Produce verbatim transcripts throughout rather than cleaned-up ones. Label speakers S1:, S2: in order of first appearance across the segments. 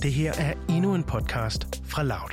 S1: Det her er endnu en podcast fra Loud.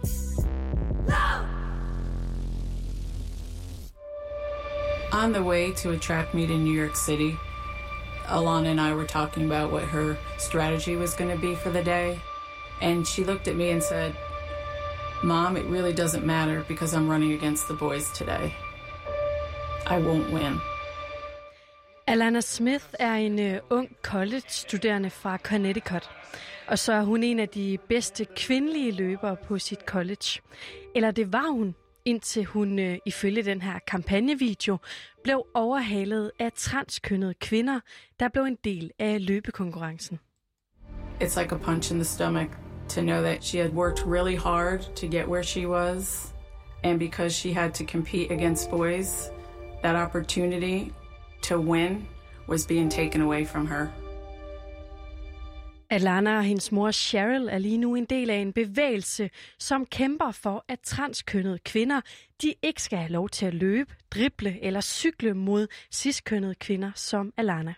S2: On the way to a track meet in New York City, Alana and I were talking about what her strategy was going to be for the day. And she looked at me and said, "Mom, it really doesn't matter because I'm running against the boys today. I won't win."
S3: Alana Smith er en uh, ung college-studerende fra Connecticut. Og så er hun en af de bedste kvindelige løbere på sit college. Eller det var hun, indtil hun uh, ifølge den her kampagnevideo blev overhalet af transkønnede kvinder, der blev en del af løbekonkurrencen.
S2: It's like a punch in the stomach to know that she had worked really hard to get where she was. And because she had to compete against boys, that opportunity to win was being taken away from her.
S3: Alana og hendes mor Cheryl er lige nu en del af en bevægelse, som kæmper for, at transkønnede kvinder de ikke skal have lov til at løbe, drible eller cykle mod ciskønnede kvinder som Alana.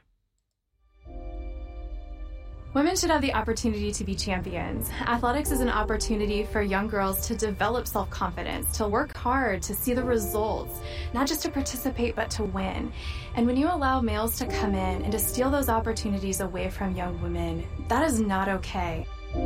S4: Women should have the opportunity to be champions. Athletics is an opportunity for young girls to develop self-confidence, to work hard, to see the results, not just to participate, but to win. And when you allow males to come in and to steal those opportunities away from young women, that is not okay.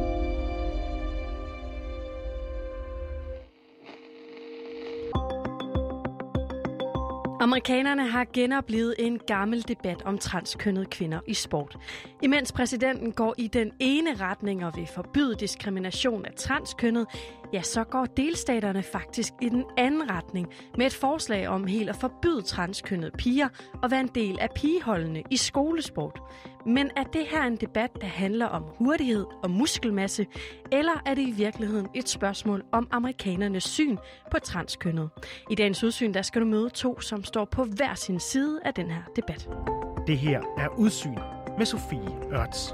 S3: Amerikanerne har genoplevet en gammel debat om transkønnede kvinder i sport. Imens præsidenten går i den ene retning og vil forbyde diskrimination af transkønnede, ja, så går delstaterne faktisk i den anden retning med et forslag om helt at forbyde transkønnede piger og være en del af pigeholdene i skolesport. Men er det her en debat, der handler om hurtighed og muskelmasse, eller er det i virkeligheden et spørgsmål om amerikanernes syn på transkønnede? I dagens udsyn, der skal du møde to, som står på hver sin side af den her debat.
S1: Det her er Udsyn med Sofie Ørts.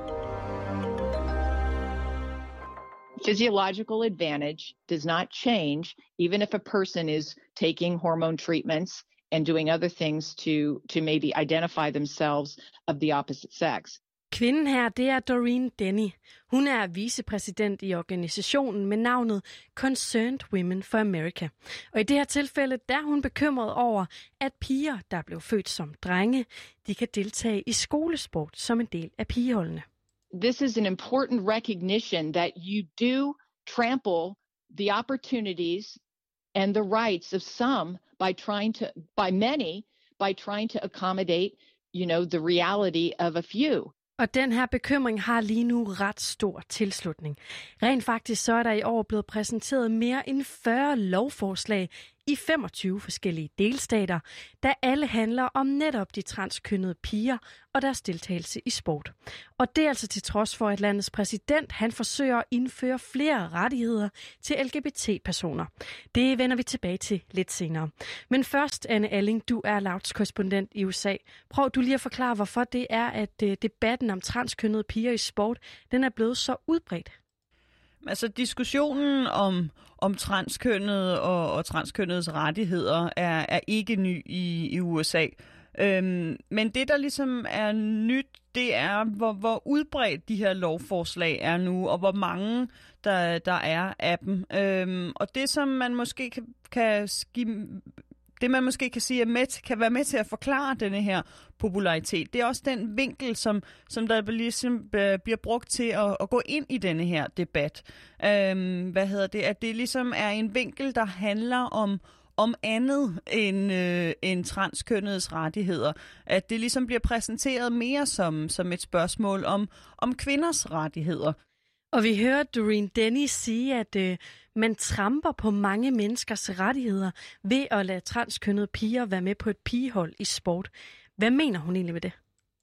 S5: Physiological advantage does not change even if a person is taking hormone treatments and doing other things to, to maybe identify themselves of the opposite sex.
S3: Kvinden her, det er Doreen Denny. Hun er vicepræsident i organisationen med navnet Concerned Women for America. Og i det her tilfælde, der er hun bekymret over, at piger, der blev født som drenge, de kan deltage i skolesport som en del af pigeholdene.
S5: This is an important recognition that you do trample the opportunities and the rights of some by trying to, by many, by trying to accommodate, you know, the reality of a few.
S3: Og den her bekymring har lige nu ret stor tilslutning. Rent faktisk så er der i år blevet præsenteret mere end fyrre lovforslag i femogtyve forskellige delstater, der alle handler om netop de transkønnede piger og deres deltagelse i sport. Og det er altså til trods for, at landets præsident han forsøger at indføre flere rettigheder til L G B T-personer. Det vender vi tilbage til lidt senere. Men først, Anne Alling, du er Louds korrespondent i U S A. Prøv du lige at forklare, hvorfor det er, at debatten om transkønnede piger i sport, den er blevet så udbredt.
S6: Altså diskussionen om, om transkønnede og, og transkønnedes rettigheder er, er ikke ny i, i U S A. Øhm, men det, der ligesom er nyt, det er, hvor, hvor udbredt de her lovforslag er nu, og hvor mange der, der er af dem. Øhm, og det, som man måske kan, kan give... Det, man måske kan sige, er med, kan være med til at forklare denne her popularitet, det er også den vinkel, som, som der ligesom bliver brugt til at, at gå ind i denne her debat. Øhm, hvad hedder det? At det ligesom er en vinkel, der handler om, om andet end, øh, end transkønnedes rettigheder. At det ligesom bliver præsenteret mere som, som et spørgsmål om, om kvinders rettigheder.
S3: Og vi hører Doreen Denny sige, at øh, man tramper på mange menneskers rettigheder ved at lade transkønnede piger være med på et pigehold i sport. Hvad mener hun egentlig med det?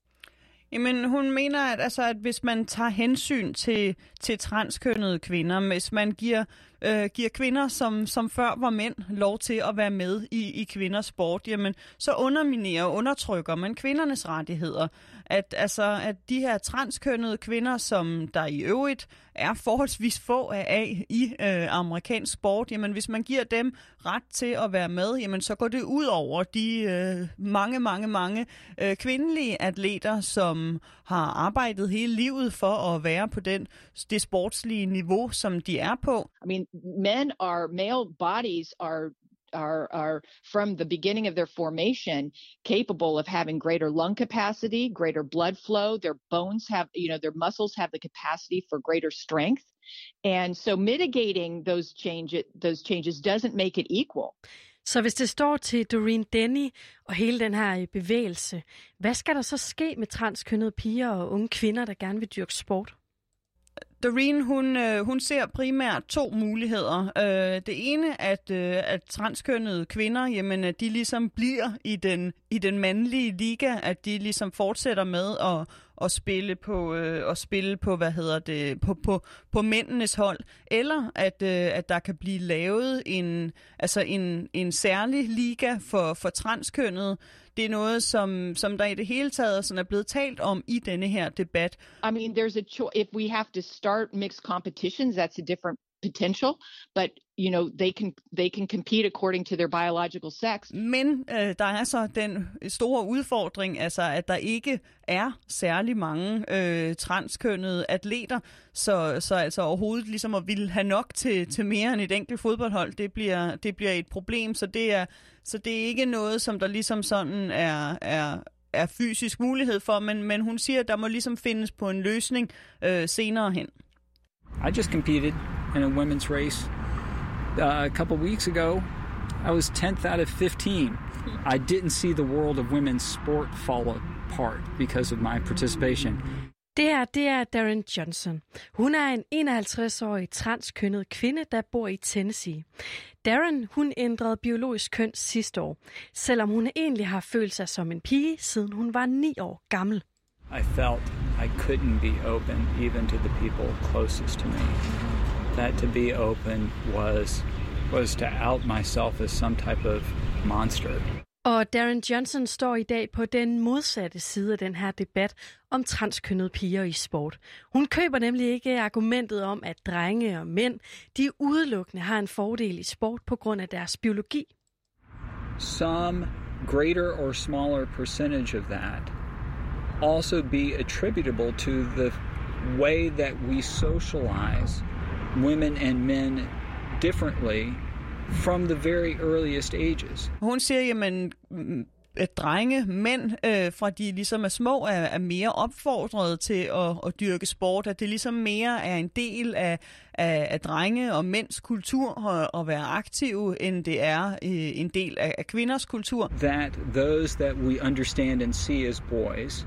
S6: Jamen, hun mener, at, altså, at hvis man tager hensyn til, til transkønnede kvinder, hvis man giver, øh, giver kvinder, som, som før var mænd, lov til at være med i, i kvinders sport, jamen, så underminerer og undertrykker man kvindernes rettigheder. at, altså, at de her transkønnede kvinder, som der i øvrigt er forholdsvis få af i øh, amerikansk sport, jamen hvis man giver dem ret til at være med, jamen så går det ud over de øh, mange, mange, mange øh, kvindelige atleter, som har arbejdet hele livet for at være på den, det sportslige niveau, som de er på.
S5: I mean, men are, male bodies are Are, are from the beginning of their formation capable of having greater lung capacity, greater blood flow. Their bones have, you know, their muscles have the capacity for greater strength. And so mitigating those change, those changes doesn't make it equal.
S3: Så hvis det står til Doreen Denny og hele den her bevægelse, hvad skal der så ske med transkønnede piger og unge kvinder, der gerne vil dyrke sport?
S6: Doreen, hun, øh, hun ser primært to muligheder. Øh, det ene, at, øh, at transkønnede kvinder, jamen, at de ligesom bliver i den, i den mandlige liga, at de ligesom fortsætter med at, at spille på, øh, at spille på, hvad hedder det, på, på, på mændenes hold, eller at, øh, at der kan blive lavet en, altså en, en særlig liga for, for transkønnede. Det er noget, som, som der i det hele taget sådan er blevet talt om i denne her debat.
S5: I mean, there's a cho- if we have to start mixed competitions, that's a different potential, but you know, they can they can compete according to their biological sex.
S6: Men øh, der er så den store udfordring, altså at der ikke er særlig mange øh, transkønnede atleter, så så altså overhovedet ligesom at ville have nok til til mere end et enkelt fodboldhold, det bliver det bliver et problem, så det er så det er ikke noget, som der ligesom sådan er er er fysisk mulighed for, men men hun siger, at der må ligesom findes på en løsning øh, senere hen.
S7: I just competed in a women's race uh, a couple weeks ago. I was tenth out of fifteen. I didn't see the world of women's sport fall apart because of my participation.
S3: Det her, det er Darren Johnson. Hun er en enoghalvtreds-årig transkønnet kvinde, der bor i Tennessee. Darren, hun ændrede biologisk køn sidste år, selvom hun egentlig har følt sig som en pige, siden hun var ni år gammel.
S7: I felt I couldn't be open even to the people closest to me. That to be open was was to out myself as some type of monster.
S3: Og Darren Johnson står i dag på den modsatte side af den her debat om transkønnede piger i sport. Hun køber nemlig ikke argumentet om, at drenge og mænd, de udelukkende har en fordel i sport på grund af deres biologi.
S7: Some greater or smaller percentage of that also be attributable to the way that we socialize women and men differently from the very earliest ages.
S6: Hun siger, jamen, at drenge, mænd, øh, fra de ligesom er små, er, er mere opfordret til at, at dyrke sport, at det ligesom mere er en del af, af, af drenge og mænds kultur at, at være aktive, end det er øh, en del af, af kvinders kultur.
S7: That those that we understand and see as boys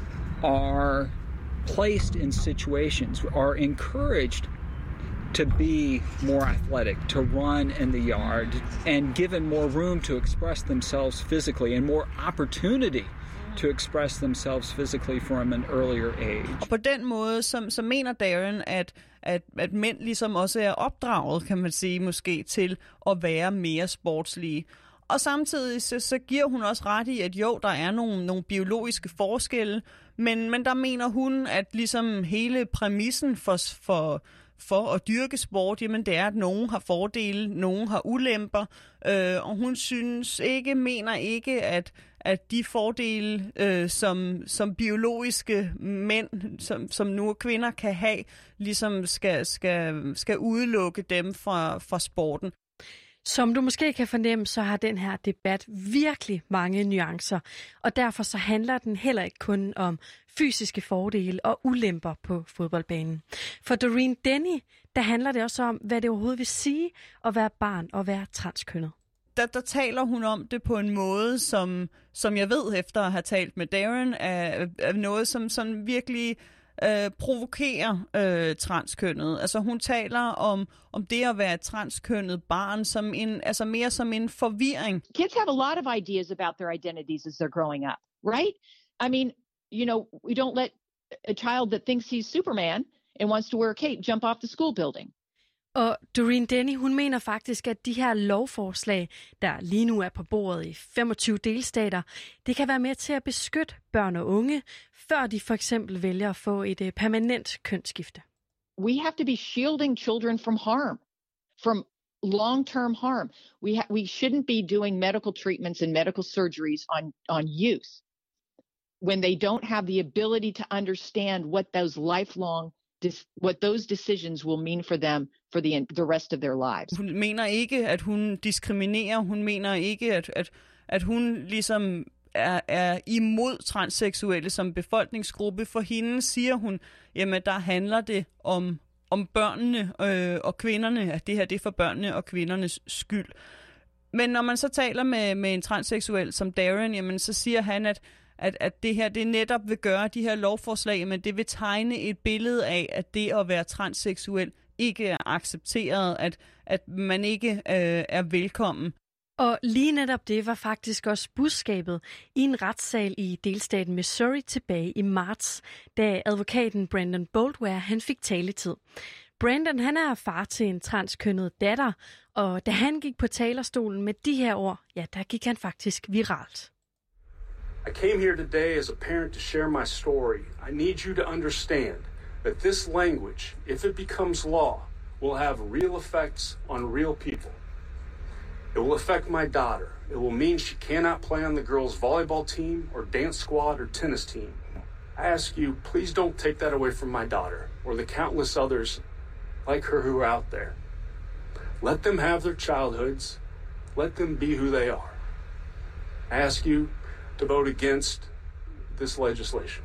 S7: are placed in situations, are encouraged to be more athletic, to run in the yard, and given more room to express themselves physically and more opportunity to express themselves physically from an earlier age.
S6: Og på den måde, så, så mener Darren, at, at, at mænd ligesom også er opdraget, kan man sige, måske til at være mere sportslige. Og samtidig så, så giver hun også ret i, at jo, der er nogle, nogle biologiske forskelle, men, men der mener hun, at ligesom hele præmissen for, for, for at dyrke sport, jamen det er, at nogen har fordele, nogen har ulemper, øh, og hun synes ikke, mener ikke, at, at de fordele, øh, som, som biologiske mænd, som, som nu kvinder kan have, ligesom skal, skal, skal udelukke dem fra, fra sporten.
S3: Som du måske kan fornemme, så har den her debat virkelig mange nuancer, og derfor så handler den heller ikke kun om fysiske fordele og ulemper på fodboldbanen. For Doreen Denny, der handler det også om, hvad det overhovedet vil sige at være barn og være transkønnet.
S6: Der, der taler hun om det på en måde, som, som jeg ved efter at have talt med Darren, er, er noget, som sådan virkelig øh, provokerer øh, transkønnet. Altså hun taler om, om det at være et transkønnet barn, som en, altså mere som en forvirring.
S5: Kids have a lot of ideas about their identities as they're growing up, right? I mean, you know, we don't let a child that thinks he's Superman and wants to wear a cape jump off the school building.
S3: Og Doreen Denny, hun mener faktisk, at de her lovforslag, der lige nu er på bordet i femogtyve delstater, det kan være med til at beskytte børn og unge, før de for eksempel vælger at få et permanent kønsskifte.
S5: We have to be shielding children from harm, from long-term harm. We ha- we shouldn't be doing medical treatments and medical surgeries on, on youth when they don't have the ability to understand what those lifelong what those decisions will mean for them for the the rest of their lives.
S6: Hun mener ikke, at hun diskriminerer. Hun mener ikke, at, at, at hun ligesom er, er imod transseksuelle som befolkningsgruppe. For hende siger hun, jamen der handler det om, om børnene øh, og kvinderne, at det her det er for børnene og kvindernes skyld. Men når man så taler med, med en transseksuel som Darren, jamen så siger han, at At, at det her det netop vil gøre de her lovforslag, men det vil tegne et billede af, at det at være transseksuel ikke er accepteret, at, at man ikke øh, er velkommen.
S3: Og lige netop det var faktisk også budskabet i en retssal i delstaten Missouri tilbage i marts, da advokaten Brandon Boldware han fik taletid. Brandon han er far til en transkønnet datter, og da han gik på talerstolen med de her ord, ja, der gik han faktisk viralt.
S8: I came here today as a parent to share my story. I need you to understand that this language, if it becomes law, will have real effects on real people. It will affect my daughter. It will mean she cannot play on the girls' volleyball team or dance squad or tennis team. I ask you, please don't take that away from my daughter or the countless others like her who are out there. Let them have their childhoods. Let them be who they are. I ask you to vote against this legislation.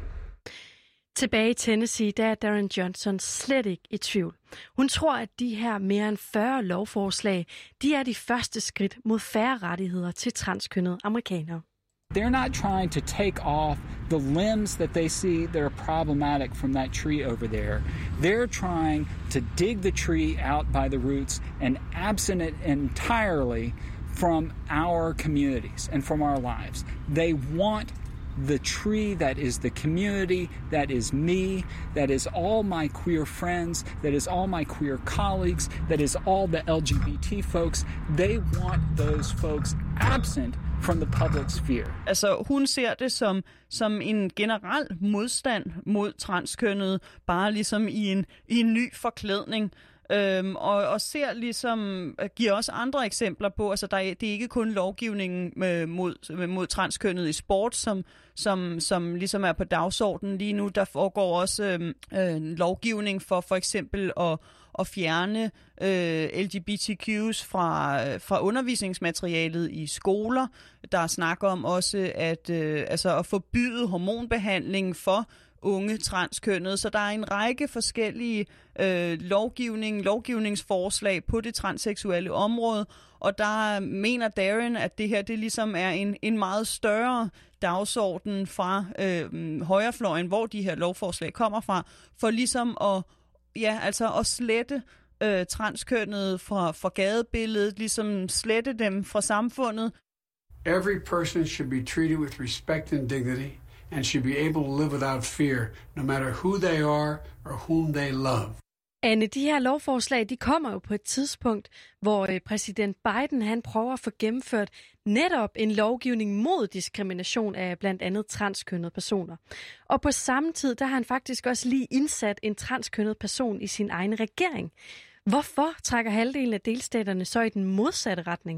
S3: Tilbage i Tennessee, der er Darren Johnson slet ikke i tvivl. Hun tror, at de her mere end fyrre lovforslag, de er de første skridt mod færre rettigheder til transkønnede amerikanere.
S7: They're not trying to take off the limbs that they see that are problematic from that tree over there. They're trying to dig the tree out by the roots and absent it entirely from our communities and from our lives. They want the tree that is the community, that is me, that is all my queer friends, that is all my queer colleagues, that is all the L G B T folks. They want those folks absent from the public sphere.
S6: Altså, hun ser det som, som en generel modstand mod transkønnede, bare ligesom i en, i en ny forklædning. Øhm, og, og ser ligesom, giver også andre eksempler på, altså der er, det er ikke kun lovgivningen med, mod, mod transkønnet i sport, som, som, som ligesom er på dagsordenen lige nu. Der foregår også øhm, øh, lovgivning for for eksempel at, at fjerne øh, L G B T Q's fra, fra undervisningsmaterialet i skoler. Der er snak om også at, øh, altså at forbyde hormonbehandling for unge transkønnede, så der er en række forskellige øh, lovgivning, lovgivningsforslag på det transseksuelle område, og der mener Darren, at det her det ligesom er en, en meget større dagsorden fra øh, højrefløjen, hvor de her lovforslag kommer fra, for ligesom at, ja, altså at slette øh, transkønnede fra, fra gadebilledet, ligesom slette dem fra samfundet.
S9: Every person should be treated with respect and dignity, and should be able to live without fear, no matter who they are or whom they love.
S3: Anne, de her lovforslag, de kommer jo på et tidspunkt, hvor præsident Biden han prøver at få gennemført netop en lovgivning mod diskrimination af blandt andet transkønnede personer. Og på samme tid, der har han faktisk også lige indsat en transkønnet person i sin egen regering. Hvorfor trækker halvdelen af delstaterne så i den modsatte retning?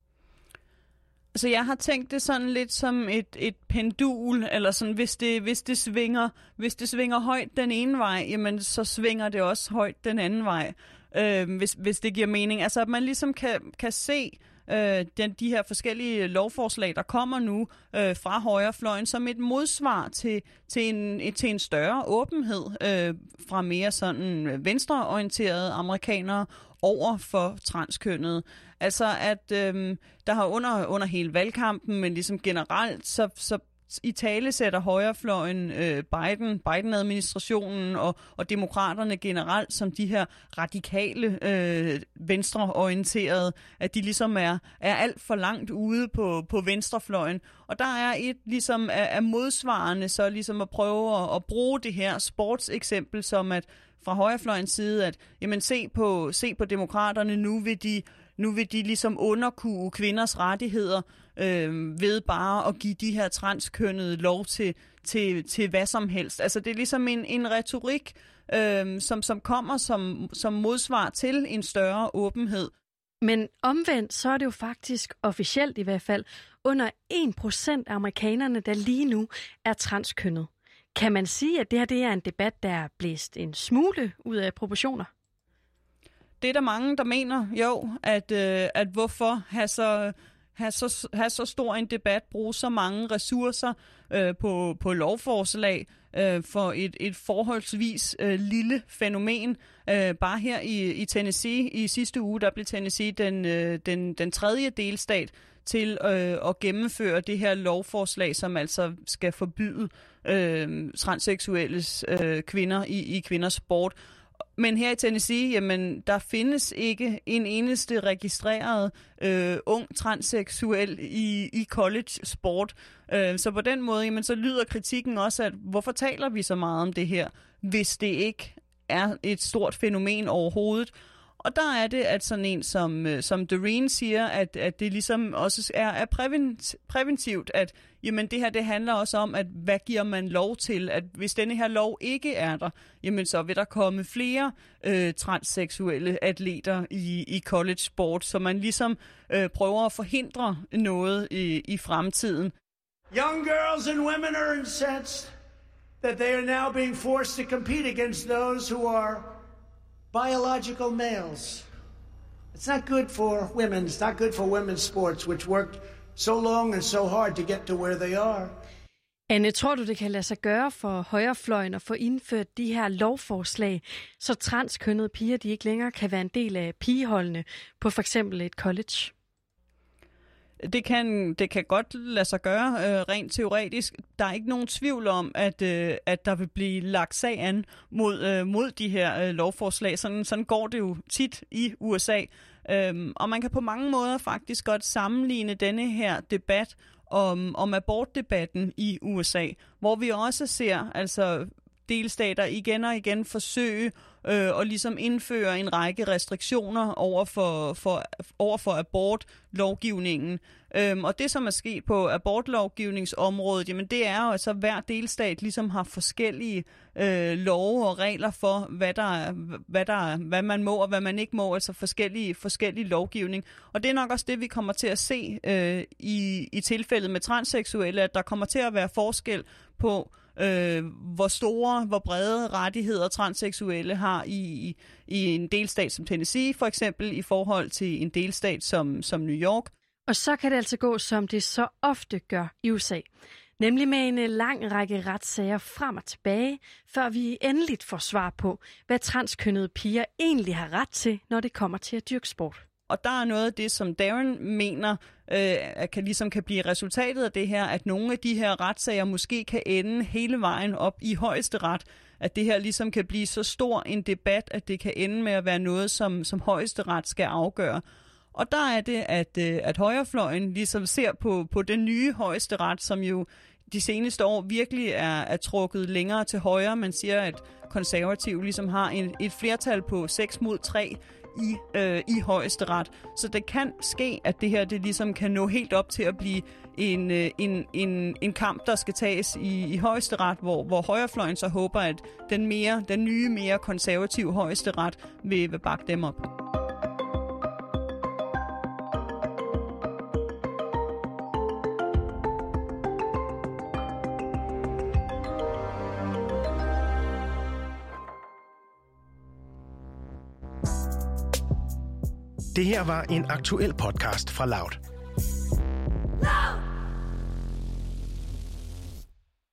S6: Altså, jeg har tænkt det sådan lidt som et, et pendul, eller sådan, hvis det, hvis det svinger, hvis det svinger højt den ene vej, jamen, så svinger det også højt den anden vej, øh, hvis, hvis det giver mening. Altså, at man ligesom kan, kan se øh, den, de her forskellige lovforslag, der kommer nu øh, fra højrefløjen, som et modsvar til, til, en, til en større åbenhed øh, fra mere sådan venstreorienterede amerikanere over for transkønnede. Altså, at øh, der har under, under hele valgkampen, men ligesom generelt, så, så i tale sætter højrefløjen øh, Biden, Biden-administrationen og, og demokraterne generelt som de her radikale, øh, venstreorienterede, at de ligesom er, er alt for langt ude på, på venstrefløjen. Og der er et ligesom af, af modsvarende så ligesom at prøve at, at bruge det her sportseksempel som at fra højrefløjens side, at jamen, se på, se på demokraterne, nu vil de Nu vil de ligesom underkue kvinders rettigheder øh, ved bare at give de her transkønnede lov til, til, til hvad som helst. Altså det er ligesom en, en retorik, øh, som, som kommer som, som modsvar til en større åbenhed.
S3: Men omvendt, så er det jo faktisk officielt i hvert fald under en procent af amerikanerne, der lige nu er transkønnet. Kan man sige, at det her det er en debat, der er blæst en smule ud af proportioner?
S6: Det er der mange, der mener, jo, at, øh, at hvorfor have så, have, så, have så stor en debat, bruge så mange ressourcer øh, på, på lovforslag øh, for et, et forholdsvis øh, lille fænomen. Øh, bare her i, i Tennessee i sidste uge, der blev Tennessee den, øh, den, den tredje delstat til øh, at gennemføre det her lovforslag, som altså skal forbyde øh, transseksuelles øh, kvinder i, i kvinders sport. Men her i Tennessee, jamen, der findes ikke en eneste registreret øh, ung transseksuel i, i college sport. Øh, så på den måde, jamen, så lyder kritikken også, at hvorfor taler vi så meget om det her, hvis det ikke er et stort fænomen overhovedet. Og der er det, at sådan en som, som Doreen siger, at, at det ligesom også er, er prævent, præventivt, at jamen, det her det handler også om, at hvad giver man lov til? At hvis denne her lov ikke er der, jamen, så vil der komme flere øh, transseksuelle atleter i, i college sport, så man ligesom øh, prøver at forhindre noget i, i fremtiden.
S10: Young girls and women are incensed that they are now being forced to compete against those who are biological males. It's not good for women. It's not good for women's sports, which worked so long and so hard to get to where they are.
S3: Anne, tror du, det kan lade sig gøre for højrefløjen at få indført de her lovforslag, så transkønnede piger de ikke længere kan være en del af pigeholdene på for eksempel et college?
S6: Det kan, det kan godt lade sig gøre øh, rent teoretisk. Der er ikke nogen tvivl om, at, øh, at der vil blive lagt sag an mod, øh, mod de her øh, lovforslag. Sådan, sådan går det jo tit i U S A. Øhm, og man kan på mange måder faktisk godt sammenligne denne her debat om, om abortdebatten i U S A, hvor vi også ser altså delstater igen og igen forsøge øh, og ligesom indføre en række restriktioner over for, for, over for abortlovgivningen. Øhm, og det, som er sket på abortlovgivningsområdet, jamen det er jo, at så hver delstat ligesom har forskellige øh, love og regler for, hvad, der, hvad, der, hvad man må og hvad man ikke må, altså forskellige, forskellige lovgivning. Og det er nok også det, vi kommer til at se øh, i, i tilfældet med transseksuelle, at der kommer til at være forskel på, Øh, hvor store, hvor brede rettigheder transseksuelle har i, i, i en delstat som Tennessee, for eksempel i forhold til en delstat som, som New York.
S3: Og så kan det altså gå, som det så ofte gør i U S A. Nemlig med en lang række retssager frem og tilbage, før vi endeligt får svar på, hvad transkønnede piger egentlig har ret til, når det kommer til at dyrke sport.
S6: Og der er noget af det, som Darren mener, øh, kan, ligesom kan blive resultatet af det her, at nogle af de her retssager måske kan ende hele vejen op i højesteret. At det her ligesom kan blive så stor en debat, at det kan ende med at være noget, som, som højesteret skal afgøre. Og der er det, at, at højrefløjen ligesom ser på, på den nye højesteret, som jo de seneste år virkelig er, er trukket længere til højre. Man siger, at konservative ligesom har en, et flertal på seks mod tre i, øh, i højesteret. Så det kan ske, at det her det ligesom kan nå helt op til at blive en, øh, en, en, en kamp, der skal tages i, i højesteret, hvor, hvor højrefløjen så håber, at den, mere, den nye, mere konservative højesteret vil, vil bakke dem op.
S1: Det her var en aktuel podcast fra Loud.